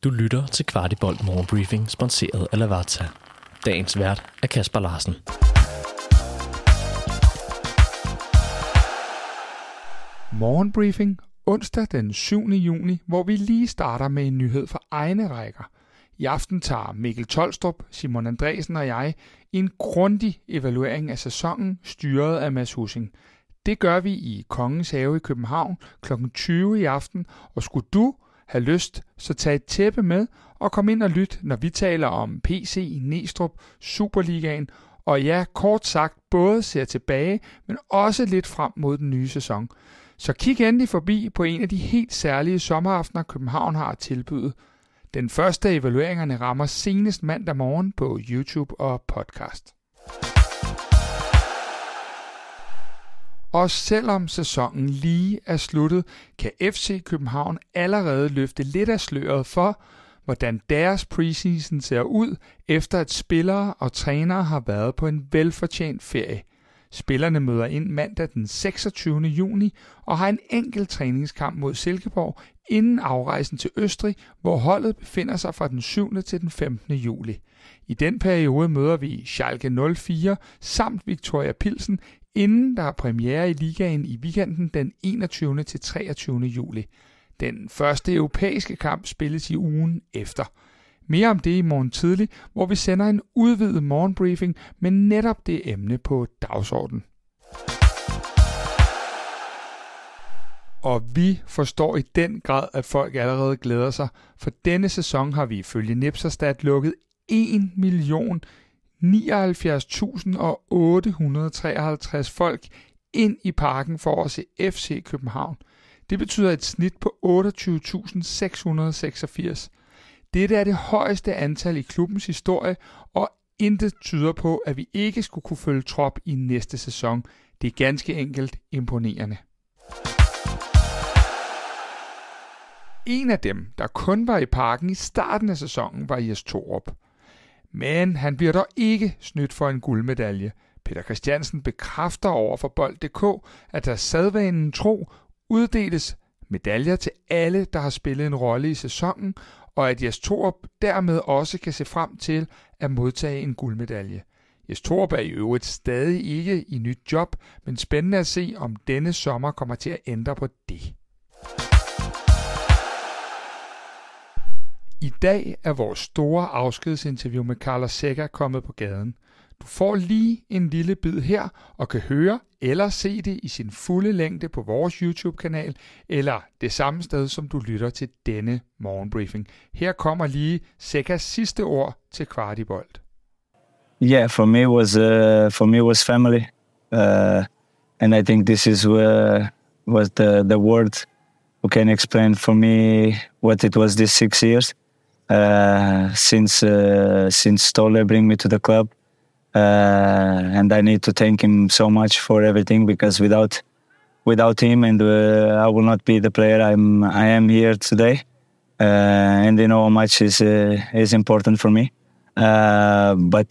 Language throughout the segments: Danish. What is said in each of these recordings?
Du lytter til Kvartibolt Morgenbriefing, sponsoreret af Lavazza. Dagens vært er Kasper Larsen. Morgenbriefing onsdag den 7. juni, hvor vi lige starter med en nyhed fra egne rækker. I aften tager Mikkel Tolstrup, Simon Andresen og jeg en grundig evaluering af sæsonen, styret af Mads Hussing. Det gør vi i Kongens Have i København kl. 20 i aften, og skulle du have lyst, så tag et tæppe med og kom ind og lyt, når vi taler om PC, Næstrup, Superligaen, og ja, kort sagt både ser tilbage, men også lidt frem mod den nye sæson. Så kig endelig forbi på en af de helt særlige sommeraftener, København har at tilbyde. Den første af evalueringerne rammer senest mandag morgen på YouTube og podcast. Og selvom sæsonen lige er sluttet, kan FC København allerede løfte lidt af sløret for, hvordan deres preseason ser ud, efter at spillere og trænere har været på en velfortjent ferie. Spillerne møder ind mandag den 26. juni og har en enkelt træningskamp mod Silkeborg inden afrejsen til Østrig, hvor holdet befinder sig fra den 7. til den 15. juli. I den periode møder vi Schalke 04 samt Viktoria Pilsen, inden der er premiere i ligaen i weekenden den 21. til 23. juli. Den første europæiske kamp spilles i ugen efter. Mere om det i morgen tidlig, hvor vi sender en udvidet morgenbriefing med netop det emne på dagsordenen. Og vi forstår i den grad, at folk allerede glæder sig, for denne sæson har vi ifølge Nipserstat lukket 1.079.853 folk ind i parken for at se FC København. Det betyder et snit på 28.686. Dette er det højeste antal i klubbens historie, og intet tyder på, at vi ikke skulle kunne følge trop i næste sæson. Det er ganske enkelt imponerende. En af dem, der kun var i parken i starten af sæsonen, var Jes Torup. Men han bliver dog ikke snydt for en guldmedalje. Peter Christiansen bekræfter over for Bold.dk, at der sædvanen tro uddeles medaljer til alle, der har spillet en rolle i sæsonen, og at Jes Torup dermed også kan se frem til at modtage en guldmedalje. Jes Torup er i øvrigt stadig ikke i nyt job, men spændende at se, om denne sommer kommer til at ændre på det. I dag er vores store afskedsinterview med Carlos Seca kommet på gaden. Du får lige en lille bid her og kan høre eller se det i sin fulde længde på vores YouTube-kanal, eller det samme sted, som du lytter til denne morgenbriefing. Her kommer lige Secas sidste ord til Kvartibolt. Yeah, for me was family, and I think this is was the word who can explain for me what it was these 6 years since Ståle bring me to the club. And I need to thank him so much for everything, because without him, and I will not be the player I am here today. And you know how much is important for me. But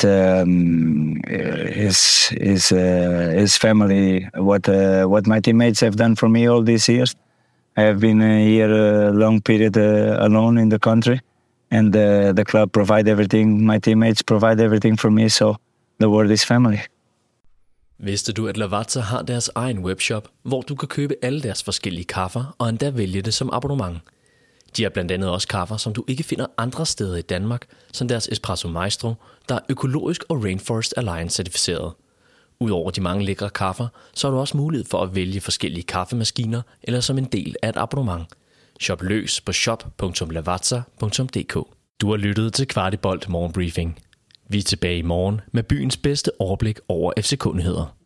his family, what my teammates have done for me all these years. I have been here a long period alone in the country, and the club provide everything. My teammates provide everything for me. So the word is family. Vidste du, at Lavazza har deres egen webshop, hvor du kan købe alle deres forskellige kaffer og endda vælge det som abonnement? De har blandt andet også kaffer, som du ikke finder andre steder i Danmark, som deres Espresso Maestro, der er økologisk og Rainforest Alliance certificeret. Udover de mange lækre kaffer, så har du også mulighed for at vælge forskellige kaffemaskiner eller som en del af et abonnement. Shop løs på shop.lavazza.dk. Du har lyttet til Kvartibolt Morgenbriefing. Vi er tilbage i morgen med byens bedste overblik over FCK-nyheder.